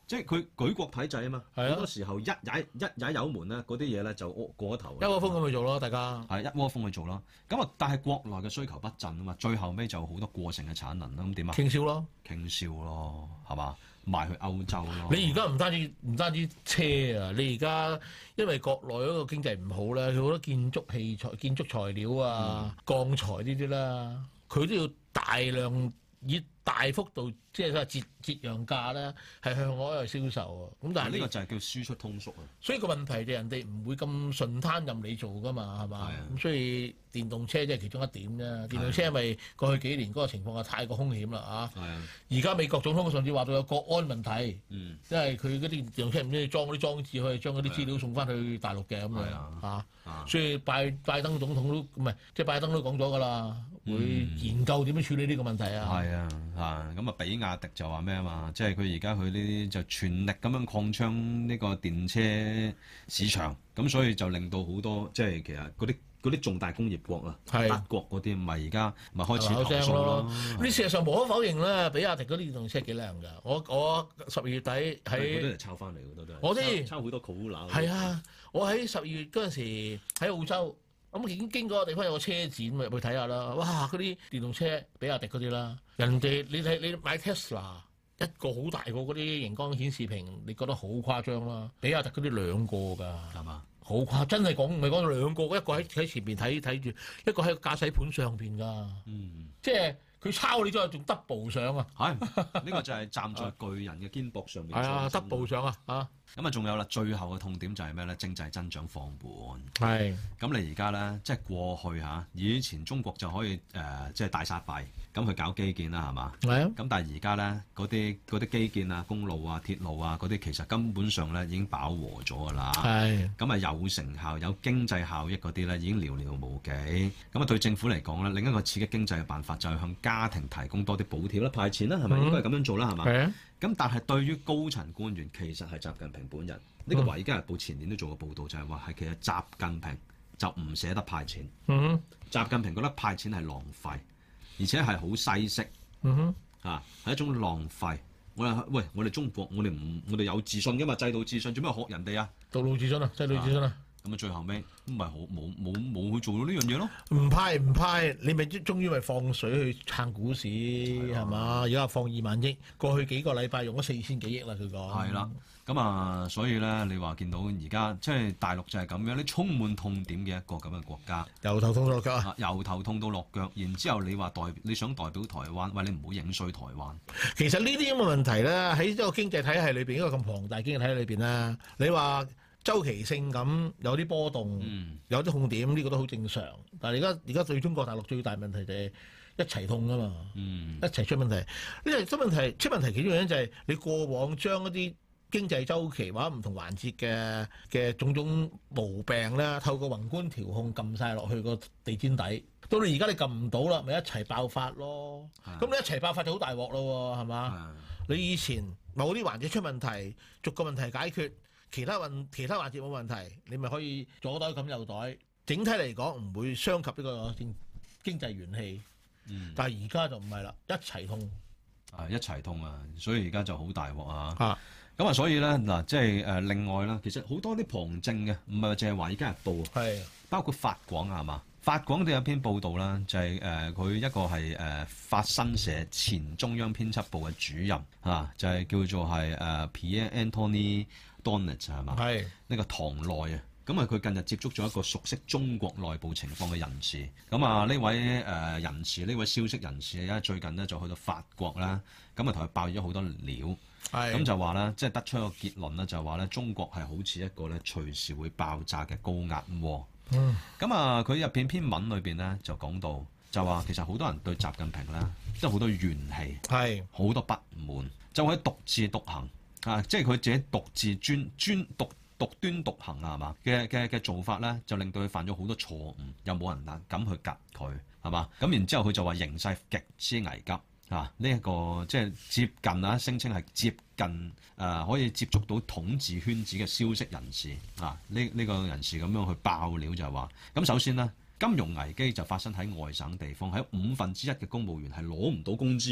即係佢舉國體制啊嘛， 係啊好多時候一踩一踩油門咧，嗰啲嘢咧就過咗頭。 一窩蜂咁去做咯，大家係一窩蜂去做咯。咁啊，但係國內嘅需求不振啊嘛，最後尾就好多過剩嘅產能啦。咁點啊？ 傾銷咯， 傾銷咯，係嘛？賣去歐洲咯。 你而家唔單止唔單止車啊，你而家因為國內嗰個經濟唔好咧，佢好多建築器材、建築材料啊、鋼材呢啲啦，佢都要大量以大幅度即係節節讓價咧，係向外去銷售啊。咁但係呢個就係叫輸出通縮啊。 所以個問題就人哋唔會咁順攤任你做噶嘛，係嘛？ 係啊咁所以電動車即係其中一點啫。電動車因為過去幾年嗰個情況係太過兇險啦啊！ 係啊， 而家美國總統上次話到有國安問題， 嗯， 因為佢嗰啲電動車唔知裝嗰啲裝置可以將嗰啲資料送翻去大陸嘅咁樣係啊啊。 啊， 所以拜拜登總統都唔係，即係拜登都講咗㗎啦，會研究點樣處理呢個問題啊。 係啊，啊咁啊，比亞迪就話咩啊嘛，即係佢而家佢呢啲就全力咁樣擴張呢個電車市場，咁所以就令到好多即係其實嗰啲嗰啲重大工業國啊， 係德國嗰啲咪而家咪開始投口聲訴咯。 你事實上無可否認咧，比亞迪嗰啲電動車幾靚㗎。我我十二月底係嗰啲喺係抄翻嚟嘅都都係。 我知抄好多 Corolla。 係啊，我喺十二月嗰陣時喺澳洲，咁已經經過個地方有個車展，咪入去睇下啦。哇！嗰啲電動車比亞迪嗰啲啦，人哋你睇你買 Tesla 一個好大個嗰啲熒光顯示屏，你覺得好誇張啦。比亞迪嗰啲兩個㗎， 係嘛？ 好誇，真係講唔係講兩個，一個喺喺前邊睇睇住，一個喺個駕駛盤上邊㗎。 嗯， 即係佢抄你咗，仲 double 上啊！ 係呢個就係站在巨人嘅肩膊上面。 係啊，double 上啊！啊， 咁啊，仲有啦，最後嘅痛點就係咩咧？經濟增長放緩。 係。 咁你而家咧，即係過去嚇，以前中國就可以誒、呃，即係大撒幣，咁去搞基建啦，係嘛？ 係啊。 咁但係而家咧，嗰啲嗰啲基建啊、公路啊、鐵路啊嗰啲，其實根本上咧已經飽和咗㗎啦。 係。 咁啊，有成效、有經濟效益嗰啲咧，已經寥寥無幾。咁啊，對政府嚟講咧，另一個刺激經濟嘅辦法就係向家庭提供多啲補貼啦、派錢啦，係咪、嗯、應該係咁樣做啦？係嘛？ 係啊。 咁但係對於高層官員，其實係習近平本人。呢、這個《華爾街日報》前年都做過報導，就係話係其實習近平就唔捨得派錢。 嗯哼。 習近平覺得派錢係浪費，而且係好西式。 嗯哼。 啊，係一種浪費。我哋喂，我哋中國，我哋唔，我哋有自信㗎嘛，制度自信，做咩學人哋啊？ 道路自信啊，制度自信啊。 咁啊，最後尾咁咪好冇冇冇去做到呢樣嘢咯？ 唔派唔派，你咪終於咪放水去撐股市係嘛？而家放二萬億，過去幾個禮拜用咗四千幾億啦，佢講。 係啦，咁啊，所以咧，你話見到而家即係大陸就係咁樣，你充滿痛點嘅一個咁嘅國家， 由頭痛到落腳啊！ 由頭痛到落腳，然之後你話代你想代表台灣，喂，你唔好影衰台灣。 其實呢啲咁嘅問題咧，喺一個經濟體系裏邊，一個咁龐大經濟體系裏邊咧，你話周期性咁有啲波動， 嗯、有啲痛點，呢、呢個都好正常。但係而家而家對中國大陸最大問題就係一齊痛啊嘛， 嗯、 一齊出問題。呢個出問題出問題其中原因就係你過往將一啲經濟周期或者唔同環節嘅嘅種種毛病咧，透過宏觀調控撳晒落去個地氈底。到你而家你撳唔到啦，咪一齊爆發咯。咁你一齊爆發就好大鑊咯，係嘛？你以前某啲環節出問題，逐個問題解決。其他運其他環節冇問題，你咪可以左袋咁右袋。整體嚟講唔會傷及呢個經濟元氣。嗯、但係而家就唔係啦，一齊痛。 啊，一齊痛啊！所以而家就好大鑊啊！ 啊， 咁啊，所以咧嗱，即係誒另外啦，其實好多啲旁證嘅，唔係話淨係華爾街日報啊， 係包括法廣啊，係嘛？法廣都有篇報導啦，就係誒佢一個係誒、呃、法新社前中央編輯部嘅主任啊，就係、是、叫做係誒、呃、Pierre Anthony Donnet 係嘛？係呢個唐內啊，咁啊佢近日接觸咗一個熟悉中國內部情況嘅人士，咁啊呢位誒、呃、人士呢位消息人士咧最近呢就去到法國啦，咁啊同佢爆咗好多料，咁就話咧即係得出一個結論咧，就係話咧中國係好似一個咧隨時會爆炸嘅高壓鍋。嗯，咁啊佢入邊篇文裏邊咧就講到，就話其實好多人對習近平咧即係好多怨氣，係好多不滿，就喺獨自獨行。啊！即係佢自己獨自專專獨獨端獨行啊，係嘛嘅嘅嘅做法咧，就令到佢犯咗好多錯誤，又冇人敢敢去及佢，係嘛？咁然之後佢就話形勢極之危急啊！呢、這、一個即係接近啊，聲稱係接近誒、呃、可以接觸到統治圈子嘅消息人士啊！呢呢、這個人士咁樣去爆料就係話，咁首先呢，金融危機就發生喺外省地方，喺五分之一嘅公務員係攞唔到工資喎。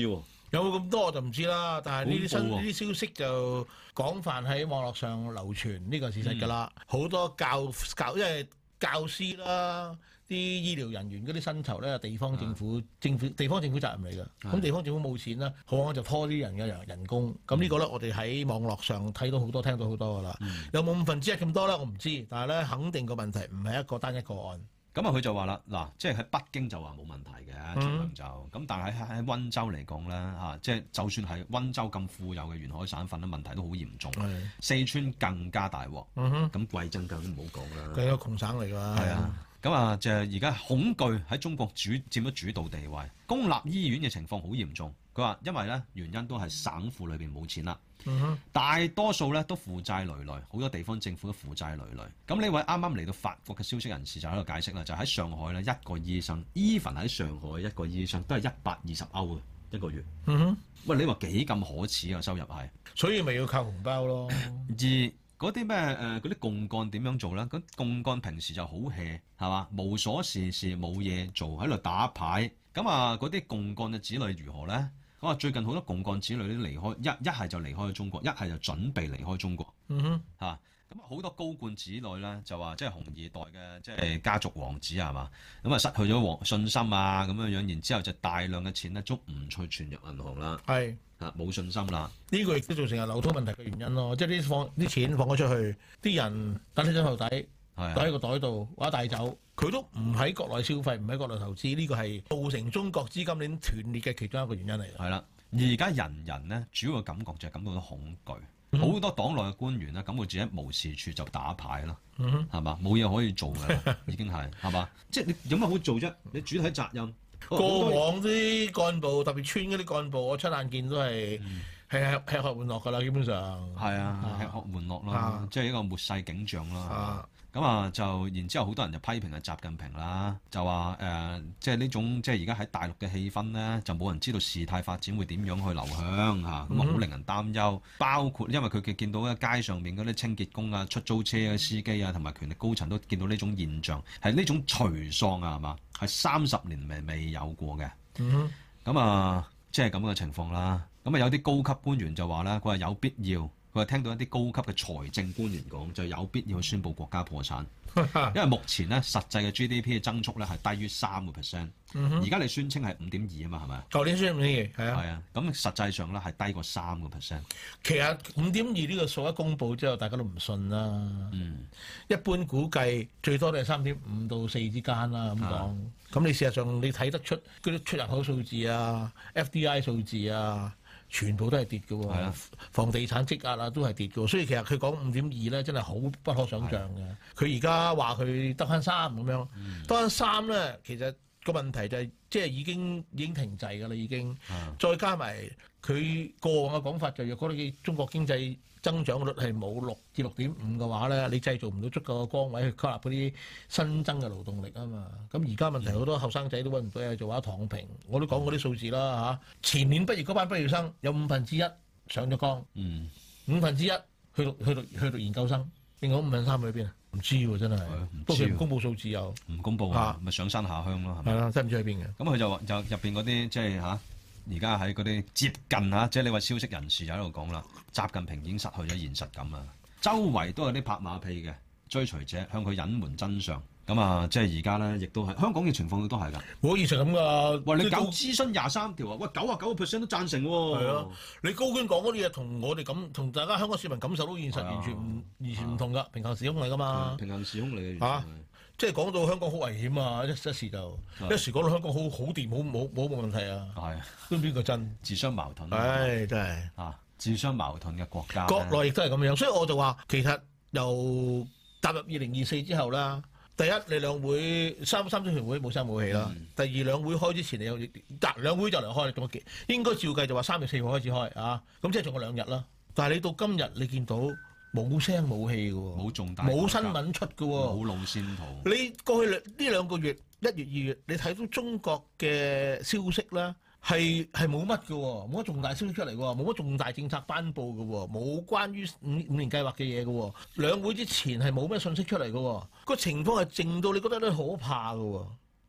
有冇咁多我就唔知啦，但係呢啲新恐怖喎呢啲消息就廣泛喺網絡上流傳，呢個係事實㗎啦。好、 嗯、 多教教，因為教師啦、啲醫療人員嗰啲薪酬咧，地方政府、 嗯、 政府地方政府責任嚟㗎。咁、嗯、地方政府冇錢啦，好可能就拖啲人嘅人人工。咁呢個咧，我哋喺網絡上睇到好多、聽到好多㗎啦。 嗯、 有冇五分之一咁多咧？我唔知，但係咧肯定個問題唔係一個單一個案。 咁啊，佢就話啦，嗱，即係喺北京就話冇問題嘅，盡量就咁，但係喺喺溫州嚟講咧，嚇，即係就算係溫州咁富有嘅沿海省份咧，問題都好嚴重。 係四川更加大鑊， 嗯哼， 咁貴州更唔好講啦。 佢係一個窮省嚟㗎。 係啊，咁啊，就係而家恐懼喺中國主佔咗主導地位，公立醫院嘅情況好嚴重。佢話因為咧原因都係省府裏邊冇錢啦。 嗯哼， 大多數咧都負債累累，好多地方政府都負債累累。咁呢位啱啱嚟到法國嘅消息人士就喺度解釋啦，就喺上海咧一個醫生，even喺上海一個醫生都係一百二十歐嘅一個月。 嗯哼， 喂，你話幾咁可恥啊收入係？ 所以咪要靠紅包咯。 而嗰啲咩誒嗰啲共幹點樣做咧？咁共幹平時就好 hea 係嘛，無所事事冇嘢做喺度打牌。咁啊嗰啲共幹嘅子女如何咧？我話最近好多共幹子女都離開，一一係就離開咗中國，一係就準備離開中國。 嗯哼， 嚇咁啊好多高幹子女咧就話即係紅二代嘅即係家族王子係嘛，咁啊失去咗王信心啊咁樣樣，然之後就大量嘅錢咧都唔再存入銀行啦， 係嚇冇信心啦。 呢個亦都造成係流通問題嘅原因咯，即係啲放啲錢放咗出去，啲人等喺枕頭底， 係袋喺個袋度或者帶走，佢都唔喺國內消費，唔喺國內投資，呢個係造成中國資金鏈斷裂嘅其中一個原因嚟。 係啦，而家人人咧主要嘅感覺就係感到到恐懼，好、嗯、多黨內嘅官員咧感覺自己無事處就打牌啦，係嘛、嗯，冇嘢可以做嘅，已經係係嘛，即係你有乜好做啫？你主體責任過往啲幹部，特別村嗰啲幹部，我親眼見都係係吃喝玩樂㗎啦，基本上係啊，吃喝玩樂啦，啊、即係一個末世景象啦。咁啊，就然之後好多人就批評啊習近平啦，就話誒、呃，即係呢種即係而家喺大陸嘅氣氛咧，就冇人知道事態發展會點樣去流向嚇，咁啊好令人擔憂。包括因為佢嘅見到喺街上面嗰啲清潔工啊、出租車嘅司機啊，同埋權力高層都見到呢種現象，係呢種頹喪啊，係嘛？係三十年未未有過嘅。咁、嗯、啊，即係咁嘅情況啦。咁啊，有啲高級官員就話咧，佢話有必要。佢話聽到一啲高級嘅財政官員講，就有必要去宣布國家破產，因為目前咧實際嘅 G D P 嘅增速咧係低於三個 percent，而家你宣稱係五點二啊嘛，係咪？ 舊年宣五點二，係啊， 係啊，咁實際上咧係低過三個 percent。其實五點二呢個數一公佈之後，大家都唔信啦。嗯，一般估計最多都係三點五到四之間啦，咁講。咁你事實上你睇得出嗰啲出入口數字啊、F D I 數字啊。全部都係跌嘅喎，的房地產積壓啊都係跌嘅喎，所以其實佢講五點二咧真係好不可想像嘅。佢而家話佢得翻三咁樣，得翻三咧，其實個問題就係、是、即係已經已經停滯㗎啦，已經。的再加埋佢過往嘅講法就若果你中國經濟增長率係冇六至六點五嘅話咧，你製造唔到足夠嘅崗位去吸納嗰啲新增嘅勞動力啊嘛。咁而家問題好多後生仔都揾唔到嘢做，話躺平。我都講過啲數字啦嚇。前年畢業嗰班畢業生有五分之一上咗崗，嗯、五分之一去讀去讀去讀研究生，另外五分三去邊啊？唔知喎，真係。不過佢唔公佈數字又唔公佈啊，咪上山下鄉咯，係咪？ 係啦，真係唔知去邊嘅。 咁佢就話就入邊嗰啲即係嚇。而家喺嗰啲接近嚇，即係你話消息人士就喺度講啦，習近平已經失去咗現實感啊！周圍都有啲拍馬屁嘅追隨者向佢隱瞞真相，咁啊，即係而家咧，亦都係香港嘅情況都係㗎。冇現實咁㗎，喂，你搞諮詢廿三條啊，喂，九啊九個 percent 都贊成喎。係啊，你高官講嗰啲嘢同我哋咁，同大家香港市民感受到現實完全唔完全唔同㗎，平行時空嚟㗎嘛。平行時空嚟嘅嚇。即係講到香港好危險啊！一一時就的一時講到香港好好掂，好冇冇冇問題啊！係的，都邊個真？自相矛盾。唉，真係啊！自相矛盾嘅國家，國內亦都係咁樣，所以我就話其實由踏入二零二四之後啦，第一你兩會三三中全會冇聲冇氣啦，嗯、第二兩會開之前你有嗱兩會就嚟開，仲有幾應該照計就話三月四號開始開啊！咁即係仲有兩日啦。但係你到今日你見到。冇聲冇氣嘅喎，冇重大，冇新聞出嘅喎，冇路線圖。你過去兩呢兩個月，一月二月，你睇到中國嘅消息咧，係係冇乜嘅喎，冇乜重大消息出嚟嘅喎，冇乜重大政策頒布嘅喎，冇關於五五年計劃嘅嘢嘅喎，兩會之前係冇咩信息出嚟嘅喎，個情況係靜到你覺得咧可怕嘅喎。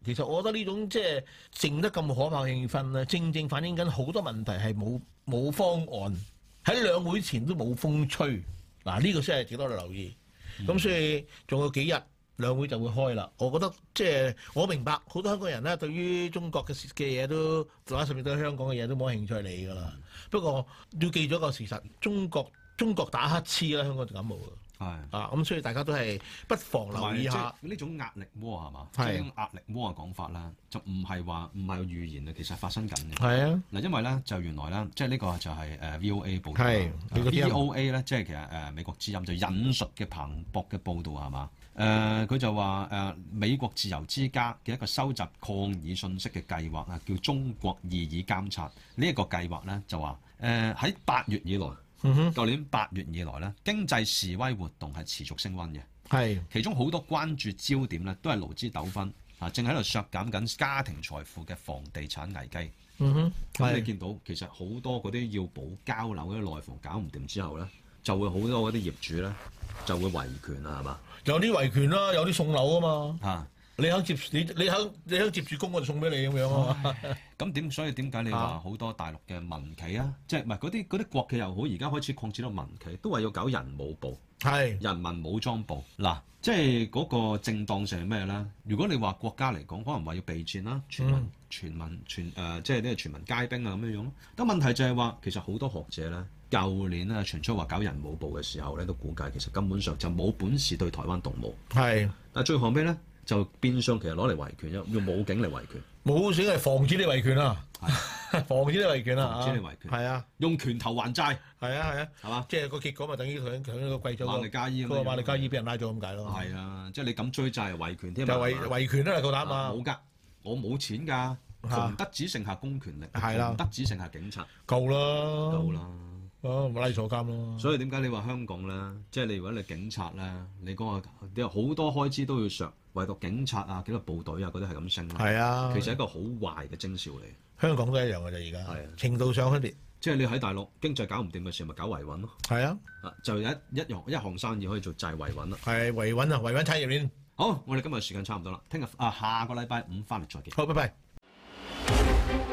其實我覺得呢種即係靜得咁可怕嘅氣氛咧，正正反映緊好多問題係冇冇方案，喺兩會前都冇風吹。嗱、這、呢個先係值得我哋留意。咁、嗯、所以仲有幾日兩會就會開啦。我覺得即係我明白好多香港人咧，對於中國嘅嘅嘢都，或者甚至對香港嘅嘢都冇興趣理㗎啦。不過要記咗個事實，中國中國打乞嗤啦，香港就感冒㗎。係啊，咁所以大家都係不妨留意下呢種壓力鍋係嘛？即係呢種壓力鍋嘅講法啦，就唔係話唔係預言啊，其實發生緊嘅。 係啊， 嗱，因為咧就原來咧，即係呢個就係誒 V O A 報道。 係 V O A 咧，即係其實誒美國之音就引述嘅彭博嘅報導係嘛？誒佢就話誒美國自由之家嘅一個收集抗議信息嘅計劃啊，叫中國異議監察呢一個計劃咧，就話誒喺八月以來。嗯哼，舊年八月以來咧，經濟示威活動係持續升溫嘅。係，其中好多關注焦點咧，都係勞資糾紛啊，正喺度削減緊家庭財富嘅房地產危機。嗯哼，咁你見到其實好多嗰啲要補交樓嗰啲內房搞唔掂之後咧，就會好多嗰啲業主咧就會維權啊，係嘛？有啲維權啦，有啲送樓啊嘛。啊！你肯接你你肯你肯接住供，我就送俾你咁樣啊嘛。咁點所以點解你話好多大陸嘅民企啊，即係唔係嗰啲嗰啲國企又好，而家開始擴展到民企，都話要搞人武部，係人民武裝部。嗱，即係嗰個正當性係咩咧？如果你話國家嚟講，可能話要備戰啦，全民、嗯、全民全誒、呃，即係呢個全民皆兵啊咁樣樣咯。咁問題就係話，其實好多學者咧，舊年咧傳出話搞人武部嘅時候咧，都估計其實根本上就冇本事對台灣動武。係，但係最後尾咧。就變相其實攞嚟維權，用用武警嚟維權，武警係防止你維權啊，防止你維權啊，防止你維權，係啊，用拳頭還債，係啊係啊，係嘛，即係個結果咪等於佢佢個貴咗個瑪麗加伊，個瑪麗加伊俾人拉咗咁解咯，係啊，即係你咁追債係維權添，就維維權啦，夠膽啊，冇㗎，我冇錢㗎，窮得只剩下公權力，係啦，窮得只剩下警察，夠啦，夠啦。哦，咪拉坐監咯。所以點解你話香港咧，即係你如果你警察咧，你嗰個有好多開支都要削，唯獨警察啊、紀律部隊啊嗰啲係咁升。係啊，其實係一個好壞嘅徵兆嚟。香港都一樣嘅啫，而家。係啊，程度上分別。即係你喺大陸經濟搞唔掂嘅時候，咪搞維穩咯。係啊，啊就有一一樣一項生意可以做就係維穩啦。係維穩啊，維穩產業鏈。好，我哋今日時間差唔多啦，聽日啊下個禮拜五翻嚟再見。好，拜拜。